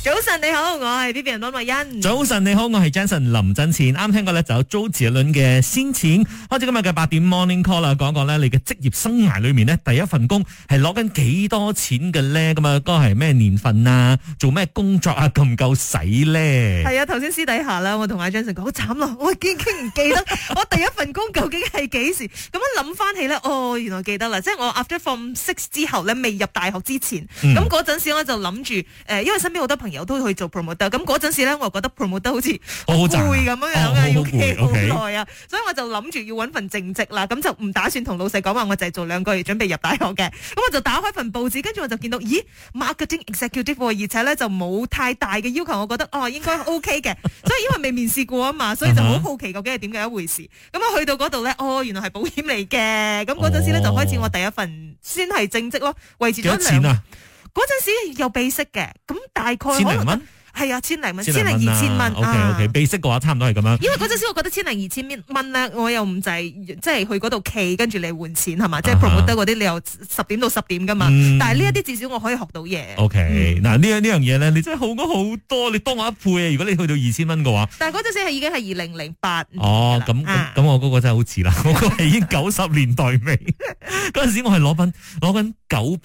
早晨你好，我係 Vivian 溫慧欣。 早晨你好，我係 Jason 林振前。啱聽過咧就有周杰倫嘅先錢。開始今日嘅8點 Morning Call 啦，講講咧你嘅職業生涯裏面呢，第一份工係攞緊幾多錢嘅咧？咁啊，嗰個係咩年份啊？做咩工作啊？夠唔夠使咧？係啊，頭先私底下啦，我同阿 Jason 講好慘咯，我已經唔記得我第一份工究竟係幾時。咁樣諗翻起咧，哦，原來記得啦，即係我 after Form 6之後咧，未入大學之前，咁嗰陣時我就諗住因為身邊好多朋友都去做 promoter， 咁嗰陣時咧，我覺得 promoter 好似好攰咁樣嘅，要企好耐啊，所以我就諗住要搵份正職啦，咁就唔打算同老細講話，我就係做2個月準備入大學嘅，咁我就打開份報紙，跟住我就見到，咦 marketing executive， 而且咧就冇太大嘅要求，我覺得應該 OK 嘅，所以因為未面試過啊嘛，所以就好好奇究竟係點嘅一回事，咁我去到嗰度咧，原來係保險嚟嘅，咁嗰陣時咧就開始我第一份先係正職咯，維持咗2年。嗰陣時有秘息嘅，咁大概可能係啊，1000零蚊，1000零2000蚊。 OK， 秘息嘅話差唔多係咁樣。 因為嗰陣時我覺得1000零2000蚊咧，我又唔就係即係去嗰度企，跟住你換錢係嘛，即係 promoter 嗰啲你又10點到10點噶嘛。但係呢一啲至少我可以學到嘢。 OK，嗱呢樣嘢咧，你真係好咗好多，你多我一倍啊！如果你去到2000蚊嘅話。 但係嗰陣時已經係2008。 咁我嗰個真係好遲啦，我嗰個係已經90年代尾。嗰陣時我係攞緊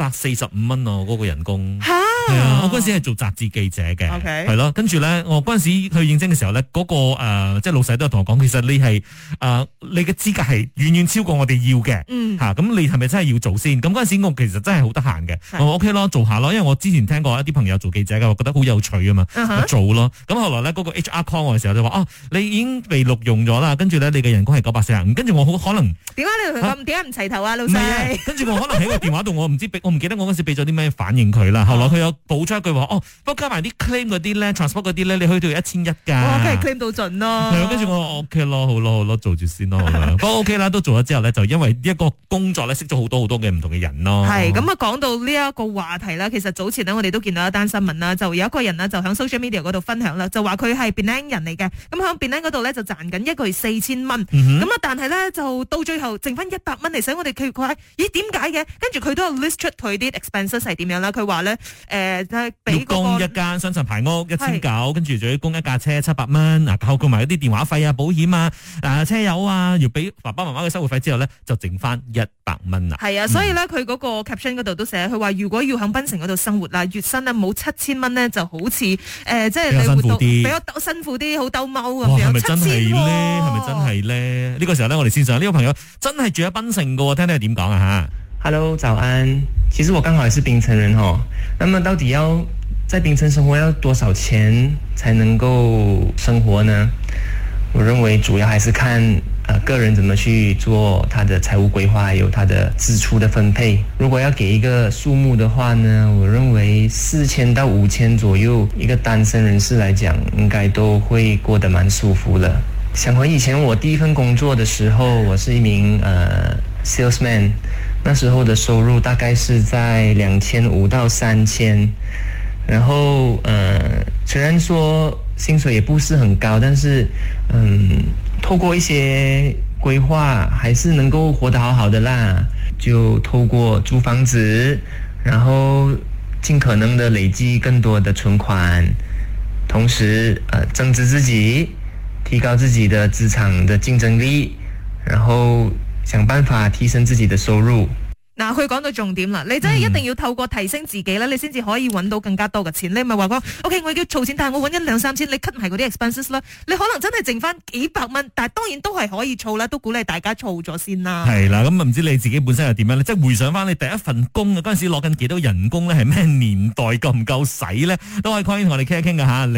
945蚊啊，嗰個人工。係啊，我嗰陣時係做雜誌記者嘅，係咯，跟住咧，我嗰陣時去應徵嘅時候咧，嗰個即係老細都有同我講，其實你係你嘅資格係遠遠超過我哋要嘅，咁你係咪真係要做先？咁嗰陣時我其實真係好得閒嘅，我話 OK 咯，做下咯，因為我之前聽過一啲朋友做記者嘅，我覺得好有趣啊嘛，做咯。咁後來咧嗰個 HR call 我嘅時候就話你已經被錄用咗啦，跟住咧你嘅人工係945，跟住我好可能點解你同佢咁點解唔齊頭啊，老細？跟住我可能喺個電話度，我唔記得我嗰陣時俾咗啲咩反應佢啦。後來佢有補出一句話，不過加埋啲 claim 嗰啲咧 ，transport 嗰啲咧，你可以到1100噶。 哇，梗係 claim 到盡咯。 係啊，跟住我 OK 咯，好咯，做住先咯。不過 OK 啦，都做咗之後咧，就因為一個工作咧，識咗好多嘅唔同嘅人咯。係咁啊，講到呢一個話題啦，其實早前呢，我哋都見到一單新聞啦，就有一個人呢，就喺 social media 嗰度分享啦，就話佢係 Penang 人嚟嘅，咁喺 Penang 嗰度咧就賺緊1個月4000蚊，咁啊，但係咧就到最後剩翻100蚊嚟使，我哋佢話咦點解嘅？跟住佢都有 list 出佢啲 expenses 係點樣啦。佢話咧要供一間雙層排屋1900，跟住仲要供一架車700蚊，包括埋一啲電話費啊、保險啊、車油啊，要俾爸爸媽媽嘅生活費之後咧，就剩翻100蚊啦。係啊，所以咧佢嗰個 caption 嗰度都寫，佢話如果要喺檳城嗰度生活啦，月薪咧冇7000蚊咧，就好似即係你活到比較辛苦啲，好兜踎咁樣。係咪真係咧？係咪真係咧？呢個時候咧，我哋線上呢個朋友真係住喺檳城噶，聽聽佢點講啊吓。 Hello， 早安。其實我剛好也是檳城人哦。那麼到底要在檳城生活要多少錢才能夠生活呢？我認為主要還是看個人怎麼去做他的財務規劃，還有他的支出的分配。如果要給一個數目的話呢，我認為4000到5000左右，一個單身人士來講，應該都會過得蠻舒服了。想回以前我第一份工作的時候，我是一名salesman。那時候的收入大概是在2500到3000，然後雖然說薪水也不是很高，但是透過一些規劃，還是能夠活得好好的啦。就透過租房子，然後盡可能的累積更多的存款，同時增值自己，提高自己的職場的競爭力，然後想辦法提升自己的收入。 嗱，佢講到重點啦，你真係一定要透過提升自己咧，你先至可以揾到更加多嘅錢。你唔係話講 OK， 我要儲錢，但係我揾1-2-3千，你 cut 埋嗰啲 expenses 啦，你可能真係剩翻幾百蚊，但係當然都係可以儲啦，都鼓勵大家儲咗先啦。係啦，咁唔知你自己本身係點樣咧？即係回想翻你第一份工啊，嗰陣時攞緊幾多人工咧？係咩年代夠唔夠使咧？都可以 call 同我哋傾一傾噶吓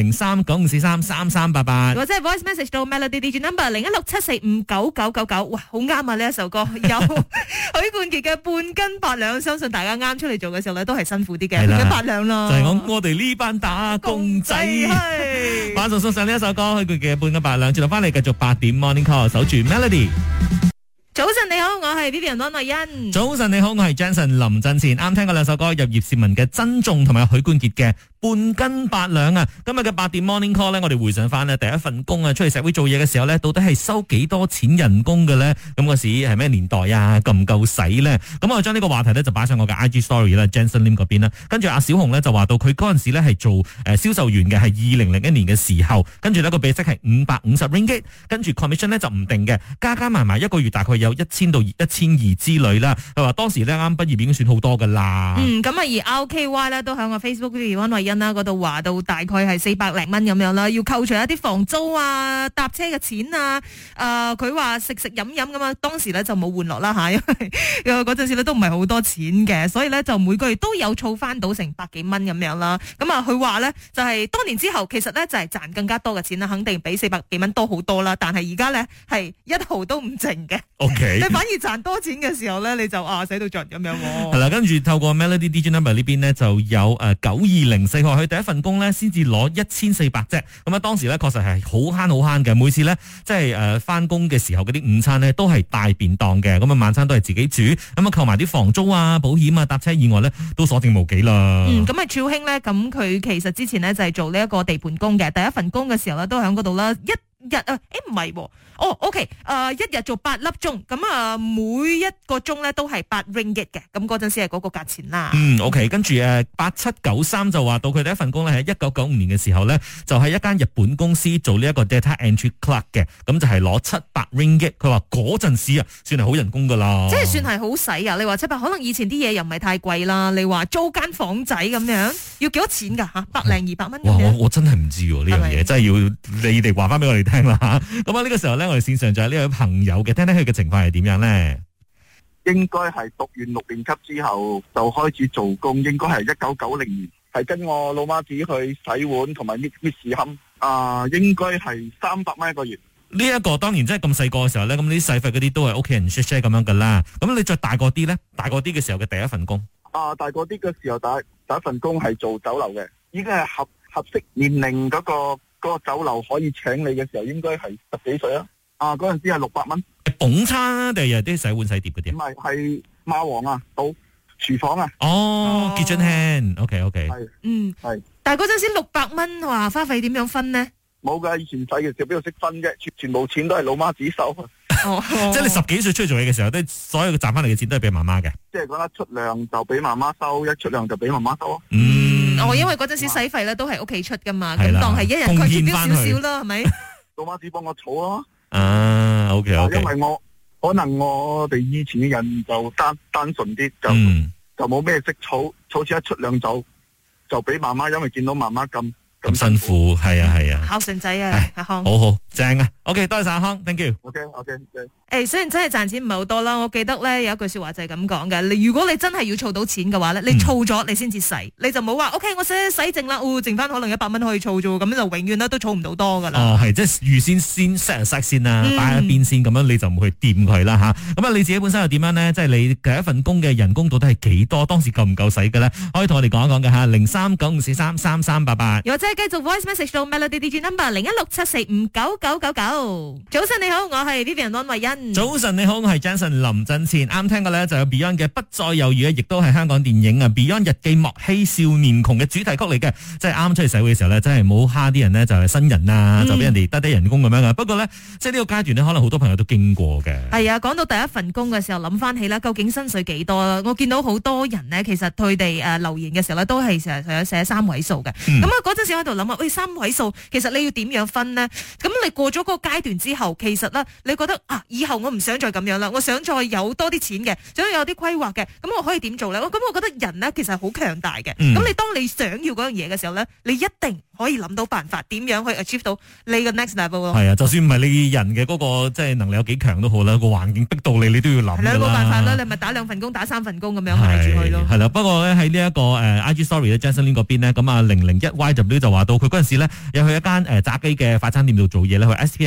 ，0395433388，或者係 voice message 到 Melody DJ number 0167459999。哇，好啱啊！呢一首歌有許冠傑嘅半斤8兩，相信大家啱出嚟做嘅時候咧，都係辛苦啲嘅，半斤8兩咯。就係我哋呢班打工仔，馬上送上呢一首歌，許冠傑嘅半斤8兩。轉頭翻嚟繼續8點 Morning Call， 守住 Melody。早晨你好，我係 Vivian 安慧欣。早晨你好，我係 Jason 林振前。啱聽過兩首歌，有葉倩文嘅珍重同埋許冠傑嘅半斤八兩啊！今日嘅8點 Morning Call 咧，我哋回想翻呢第一份工啊，出嚟社會做嘢嘅時候咧，到底係收幾多錢人工嘅咧？咁嗰時係咩年代啊？夠唔夠使咧？咁我將呢個話題咧就擺上我嘅 IG Story 啦 ，Jensen Lim 嗰邊啦。跟住阿小紅咧就話到佢嗰陣時咧係做銷售員嘅，係2001年嘅時候，跟住呢個比息係550 ringgit， 跟住 commission 咧就唔定嘅，加埋一個月大概有1000到1200之類啦。佢話當時咧啱畢業已經算好多噶啦。 咁而 RKY 咧都喺我 Facebook 嘅安慧欣啦嗰度話到大概係400零蚊咁樣啦，要扣除一啲房租啊、搭車嘅錢啊，佢話食飲咁啊，當時咧就冇玩樂啦吓，因為嗰陣時咧都唔係好多錢嘅，所以咧就每個月都有儲翻到成100幾蚊咁樣啦。咁啊，佢話咧就係多年之後，其實咧就係賺更加多嘅錢啦，肯定比400幾蚊多好多啦。但係而家咧係1毫都唔剩嘅。 OK， 你反而賺多錢嘅時候咧，你就使到盡咁樣。 係啦，跟住透過 Melody DJ Number 呢邊呢，就有9204號，佢第一份工咧先至攞1400啫。咁啊，當時咧確實係好慳嘅，每次咧即係翻工嘅時候嗰啲午餐咧都係大便當嘅，咁啊晚餐都係自己煮，咁啊扣埋啲房租啊、保險啊、搭車以外咧都所剩無幾啦。 咁啊超興咧，咁佢其實之前咧就係做呢一個地盤工嘅，第一份工嘅時候咧都喺嗰度啦，一日唔係喎，OK，一日做8粒鐘，咁啊每一個鐘咧都係8 ringgit 嘅，咁嗰陣時係嗰個價錢啦。 OK， 跟住8793就話到佢第一份工咧喺1995年嘅時候咧，就喺一間日本公司做呢一個 data entry clerk 嘅，咁就係攞700 ringgit。佢話嗰陣時啊，算係好人工噶啦， 即係算係好使啊！你話700，可能以前啲嘢又唔係太貴啦。你話租間房仔咁樣要幾多錢㗎嚇？100 200蚊。 哇！我真係唔知喎呢樣嘢，真係要你哋話翻俾我哋聽啦嚇。咁啊呢個時候咧，我哋線上就係呢位朋友嘅，聽聽佢嘅情況係點樣咧？ 應該係讀完6年級之後就開始做工，應該係1990年，係跟我老媽子去洗碗同埋搣屎冚，應該係300蚊一個月。 呢一個當然即係咁細個嘅時候咧，咁啲使費嗰啲都係屋企人 share 咁樣噶啦。咁你再大個啲咧，大個啲嘅時候嘅第一份工， 大個啲嘅時候第一份工係做酒樓嘅，已經係合適年齡嗰個酒樓可以請你嘅時候，應該係10幾歲啦。嗰陣時係600蚊。 捧餐啊，定係啲洗碗洗碟嗰啲？ 唔係，係馬王啊，到廚房啊。 kitchen hand，OK。 係。係。 但係嗰陣時600蚊話花費點樣分呢？ 冇噶，以前細嘅時候邊度識分啫，全部錢都係老媽子收。 即係你10幾歲出去做嘢嘅時候，都所有賺翻嚟嘅錢都係俾媽媽嘅。 即係講得出糧就俾媽媽收，一出糧就俾媽媽收。 因為嗰陣時使費咧都係屋企出噶嘛，咁當係一人佢出少少啦，係咪？ 老媽子幫我儲咯。 OK。 因為可能我哋以前嘅人就單純啲，就冇咩識儲錢，一出糧就俾媽媽，因為見到媽媽咁辛苦，係啊。 孝順仔啊，阿康， 好正啊。OK， 多謝阿康 ，thank you。 OK。 雖然真係賺錢唔係好多啦，我記得咧有一句說話就係咁講嘅。如果你真係要儲到錢嘅話咧，你儲咗你先至使，你就冇話 OK， 我使剩啦，剩翻可能100蚊可以儲啫，咁就永遠都儲唔到多噶啦。 係即係預先 set 先啦，擺喺邊先，咁樣你就唔去掂佢啦吓。咁啊，你自己本身又點樣咧？即係你第一份工嘅人工到底係幾多？當時夠唔夠使嘅咧？可以同我哋講一講嘅吓，0395433388。 又或者係繼續 voice message 到 Melody DJ number 0167459999。早晨你好，我係 Vivian 安慧欣。 早晨你好，我係 Jensen 林振前。啱聽嘅咧就有 Beyond 嘅不再猶豫，亦都係香港電影啊 Beyond 日記莫欺少年窮嘅主題曲嚟嘅。即係啱出嚟社會嘅時候咧，真係冇蝦啲人呢，就係新人啊，就俾人哋低人工咁樣啊。不過咧，即係呢個階段呢，可能好多朋友都經過嘅。係啊，講到第一份工嘅時候，諗翻起啦，究竟薪水幾多啦？我見到好多人呢，其實佢哋留言嘅時候咧，都係成日寫3位數嘅。咁嗰陣時喺度諗啊，喂，3位數，其實你要點樣分呢？咁你過咗嗰個階段之後，其實咧，你覺得以後我唔想再咁樣啦，我想再有多啲錢嘅，想有啲規劃嘅，咁我可以點做咧？咁我覺得人呢，其實好強大嘅。咁你當你想要嗰樣嘢嘅時候咧，你一定可以諗到辦法，點樣去 achieve 到你嘅 next level 咯。 係啊，就算唔係你人嘅嗰個即係能力有幾強都好啦，個環境逼到你都要諗㗎啦。 冇辦法啦，你咪打2份工，打3份工咁樣捱住佢咯。 係啦，不過咧喺呢一個IG story 咧 Jason Lin 嗰邊咧，咁啊001YW 就話到佢嗰陣時咧，有去一間炸雞嘅快餐店度做嘢咧，去 SPM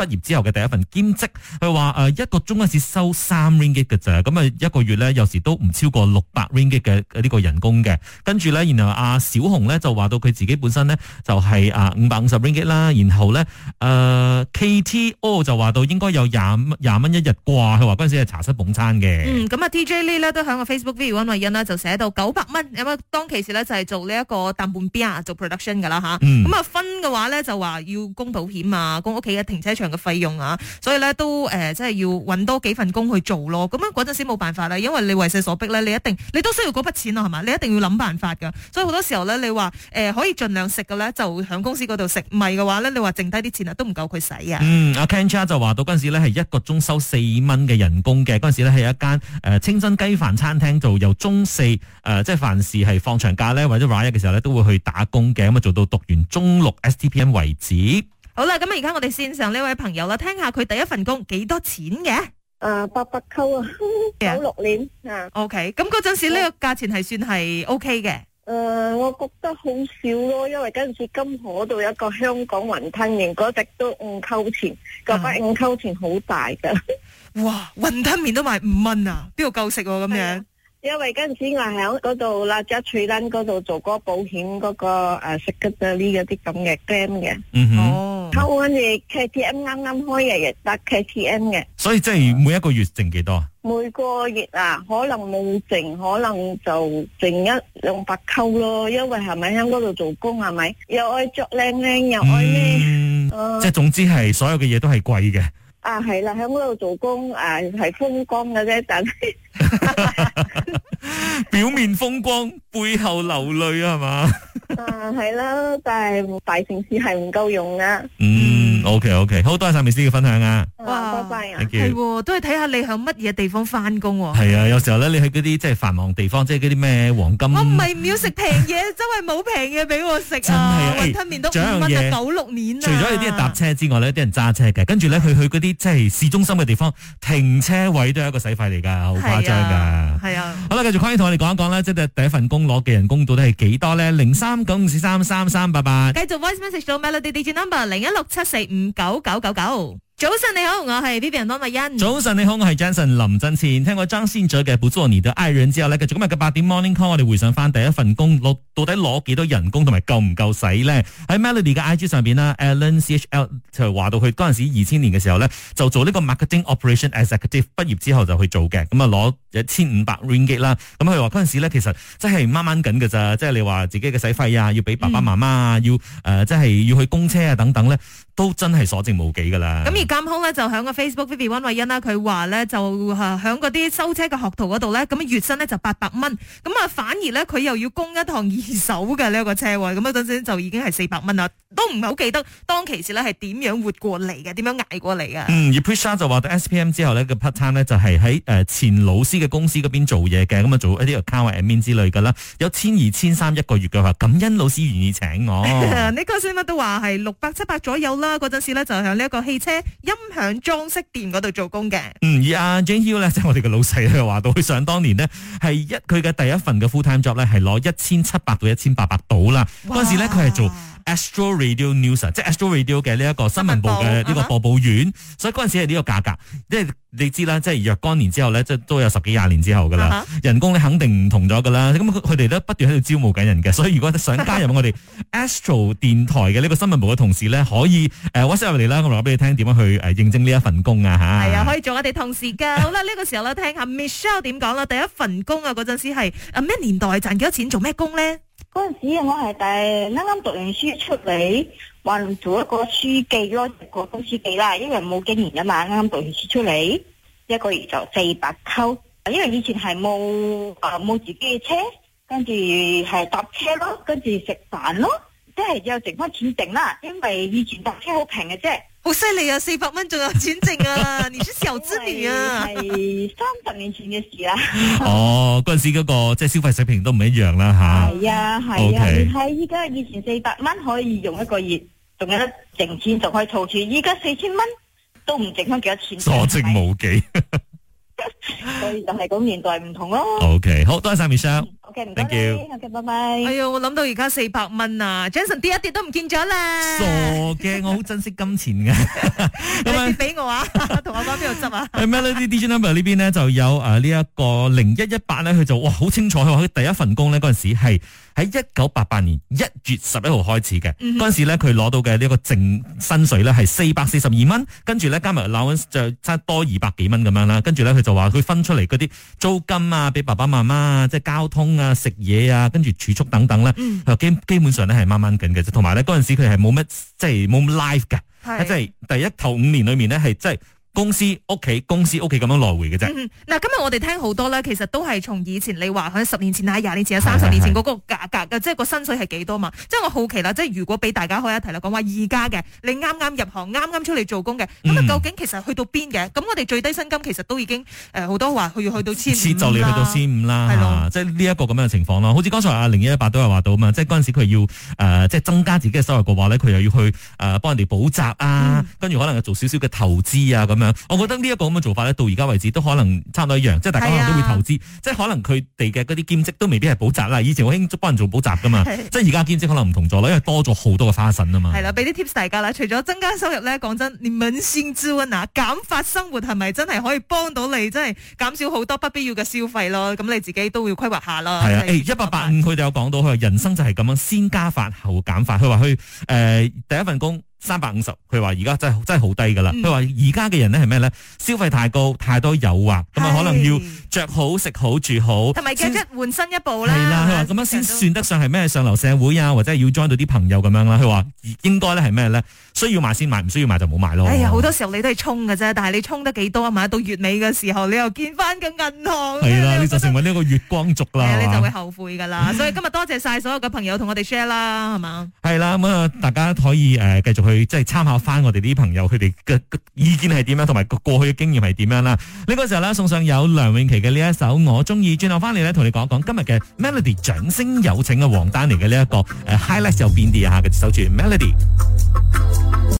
畢業之後嘅第一份兼職，佢話一個鐘嗰時收3 ringgit 嘅咋，咁啊一個月咧有時都唔超過600 ringgit 嘅呢個人工嘅。跟住咧，然後阿小紅咧就話到佢自己本身咧就係550 ringgit 啦，然後咧KTO 就話到應該有20蚊一日啩，佢話嗰陣時係茶室捧餐嘅。 咁啊 TJ Lee 咧都喺個 Facebook video 溫慧欣啦，就寫到900蚊，咁啊當其時咧就係做呢一個淡半邊啊，做 production 噶啦吓，咁啊分嘅話咧就話要供保險啊，供屋企嘅停車場嘅費用啊，所以咧都即係要搵多幾份工去做咯。咁樣嗰陣時冇辦法啦，因為你為勢所逼咧，你都需要嗰筆錢啊，係嘛，你一定要諗辦法噶。所以好多時候咧，你話可以盡量食嘅咧，就響公司嗰度食，唔係嘅話咧，你話剩低啲錢啊，都唔夠佢使啊。 阿 Ken Cha 就話到嗰陣時咧係一個鐘收4蚊嘅人工嘅，嗰陣時咧係一間清真雞飯餐廳做，由中4即係凡事係放長假咧或者 Raya 嘅時候咧都會去打工嘅，咁啊做到讀完中6 STPM 為止。好啦，咁而家我哋線上呢位朋友啦，聽下佢第一份工幾多錢嘅 ？800扣啊，96年啊。 OK， 咁嗰陣時呢個價錢係算係 OK 嘅。 我覺得好少咯，因為嗰陣時金河嗰度有一個香港雲吞麵，嗰隻都5扣錢，嗰筆5扣錢好大噶。 哇，雲吞麵都賣5蚊啊，邊度夠食咁樣？ 因為嗰陣時我喺嗰度啦，即係翠蘭嗰度做嗰個保險嗰個食嘅呢啲咁嘅 game 嘅。哦，後跟住 KTM 啱啱開嘅，亦得 KTM 嘅。 所以即係每一個月剩幾多啊？ 每個月啊，可能冇剩，可能就剩100-200扣咯。因為係咪喺嗰度做工係咪？又愛着靚靚，又愛咩？ 即係總之係所有嘅嘢都係貴嘅。 係啦，喺嗰度做工係風光嘅啫，但係表面風光，背後流淚係嘛？ 係啦，但係大城市係唔夠用噶。 OK， 好多謝晒Miss嘅分享啊！ 哇，拜拜啊！ 係都係睇下你響乜嘢地方翻工。 係啊，有時候咧，你去嗰啲即係繁忙地方，即係嗰啲咩黃金。 我唔係唔要食平嘢，周圍冇平嘢俾我食啊！雲吞麵都5蚊啊，96年啊！ 除咗有啲人搭車之外咧，啲人揸車嘅，跟住咧佢去嗰啲即係市中心嘅地方，停車位都係一個使費嚟噶，好誇張噶。係啊，好啦，繼續匡姨同我哋講一講咧，即係第一份工攞嘅人工到底係幾多咧？0394333388，繼續 voice message 到 Melody Digit Number 0167459999。早晨你好，我係 Vivian 安慧欣。早晨你好，我係 Jensen 林振前。聽過張信哲嘅《不做你的愛人》之後咧，繼續今日嘅8點 Morning Call， 我哋回想翻第一份工到底攞幾多人工同埋夠唔夠使咧？喺 Melody 嘅 IG 上邊啦 ，Alan CHL 就話到佢嗰陣時2000年嘅時候咧，就做呢個 Marketing Operation Executive， 畢業之後就去做嘅，咁啊攞1500 ringgit 啦。咁佢話嗰陣時咧，其實真係掹掹緊㗎咋，即係你話自己嘅使費啊，要俾爸爸媽媽啊，要即係要去供車啊等等咧，都真係所剩無幾噶啦。咁而監控咧就喺個 Facebook Vivian 溫慧欣啦，佢話咧就喺嗰啲收車嘅學徒嗰度咧，咁月薪咧就800蚊，咁啊反而咧佢又要供一趟二手嘅呢一個車位，咁嗰陣時就已經係400蚊啦，都唔係好記得當其時咧係點樣活過嚟嘅，點樣捱過嚟嘅。而 Prisha 就話到 SPM 之後咧個 part time 咧就係喺前老師嘅公司嗰邊做嘢嘅，咁啊做一啲 account admin 之類噶啦，有1200-1300一個月嘅話，感恩老師願意請我。呢個新聞都話係600-700左右啦，嗰陣時咧就喺呢一個汽車音響裝飾店嗰度做工嘅。而阿 Jane Hill 咧，即係我哋嘅老細咧，話到佢想當年呢，係佢嘅第一份嘅 full time job 咧，係攞1700-1800到啦。嗰陣時咧佢係做Astro Radio News， 即係 Astro Radio 嘅呢一個新聞部嘅呢個播報員，所以嗰陣時係呢個價格，即係你知啦，即係若干年之後咧，即係都有10幾20年之後噶啦，人工咧肯定唔同咗噶啦。咁佢哋咧不斷喺度招募緊人嘅，所以如果想加入我哋 Astro 電台嘅呢個新聞部嘅同事咧，可以WhatsApp 入嚟啦，我話俾你聽點樣去應徵呢一份工啊吓。係啊，可以做我哋同事噶。好啦，呢個時候咧聽下 Michelle 點講啦。第一份工啊，嗰陣時係咩年代，賺幾多錢，做咩工咧？ 嗰陣時我係啱啱讀完書出嚟，話做一個書記咯，個公書記啦，因為冇經驗啊嘛，啱啱讀完書出嚟，一個月就400扣，因為以前係冇自己嘅車，跟住係搭車咯，跟住食飯咯，即係有剩翻錢剩啦，因為以前搭車好平嘅啫。好犀利啊！400蚊仲有錢剩啊！你是小資女啊！係30年前嘅事啦。哦， 嗰陣時嗰個即係消費水平都唔一樣啦吓。 係啊係啊，你睇依家以前400蚊可以用一個月，仲有得剩錢，仲可以儲錢。依家4000蚊都唔剩翻幾多錢。 所剩無幾。 所以就係咁年代唔同咯。 OK， 好多謝晒 Michelle。 OK，唔該 Thank you 你 OK， 拜拜。 哎呀，我諗到而家400蚊啊 ，Jason 跌一跌都唔見咗啦。 傻嘅，我好珍惜金錢嘅。 你跌俾我啊，同我講邊度執啊？ 喺 Melody DJ Number 呢邊呢，就有呢一個0118咧，佢就哇好清楚，佢話佢第一份工呢嗰陣時係喺1988年1月11號開始嘅。嗰陣時咧佢攞到嘅呢一個淨薪水咧係442蚊，跟住咧加埋 allowance 就差多200幾蚊咁樣啦。跟住咧佢就話佢分出嚟嗰啲租金啊，俾爸爸媽媽啊，即係交通啊、食嘢啊，跟住儲蓄等等咧，基本上咧係掹掹緊嘅啫。同埋咧嗰陣時佢係冇乜即係冇 life 嘅，即係第一頭5年裏面咧係即係。公司屋企咁樣來回嘅啫。 嗱，今日我哋聽好多咧，其實都係從以前你話喺10年前啊、20年前啊、30年前嗰個價格嘅，即係個薪水係幾多嘛？即係我好奇啦，即係如果俾大家開一題啦，講話而家嘅你啱啱入行、啱啱出嚟做工嘅，咁啊究竟其實去到邊嘅？咁我哋最低薪金其實都已經好多話佢要去到1500 就嚟去到1500啦，係咯，即係呢一個咁樣嘅情況咯。好似剛才阿0118都有話到嘛，即係嗰陣時佢要即係增加自己嘅收入嘅話咧，佢又要去幫人哋補習啊，跟住可能做少少嘅投資啊咁樣。我覺得呢一個咁嘅做法咧，到而家為止都可能差唔多一樣，即係大家可能都會投資，即係可能佢哋嘅嗰啲兼職都未必係補習啦。以前好興幫人做補習噶嘛，即係而家兼職可能唔同咗啦，因為多咗好多嘅花神啊嘛。 係啦，俾啲 tips 大家啦，除咗增加收入咧，講真，你捫心自問啊，減法生活係咪真係可以幫到你，真係減少好多不必要嘅消費咯？咁你自己都要規劃下啦。 係啊，1885佢哋有講到，佢話人生就係咁樣，先加法後減法。佢話佢第一份工350，佢話而家真係好低噶啦。佢話而家嘅人咧係咩咧？消費太高，太多誘惑，咁啊可能要着好、食好、住好， 同埋嘅一換新一步啦。 係啦，佢話咁樣先算得上係咩上流社會啊，或者係要 join 到啲朋友咁樣啦。佢話應該咧係咩咧？需要買先買，唔需要買就冇買咯。 哎呀，好多時候你都係衝嘅啫，但係你衝得幾多啊嘛？到月尾嘅時候，你又見翻個銀行， 係啦，你就成為呢一個月光族啦， 你就會後悔噶啦。所以今日多謝晒所有嘅朋友同我哋 share 啦，係嘛？ 係啦，咁啊，大家可以繼續去即係參考翻我哋啲朋友佢哋嘅意見係點樣，同埋過去嘅經驗係點樣啦。呢個時候咧，送上有梁詠琪嘅呢一首我中意，轉頭翻嚟咧，同你講一講今日嘅 Melody 掌聲有請嘅王丹妮嘅呢一個highlight 有邊啲啊？嘅守住 Melody。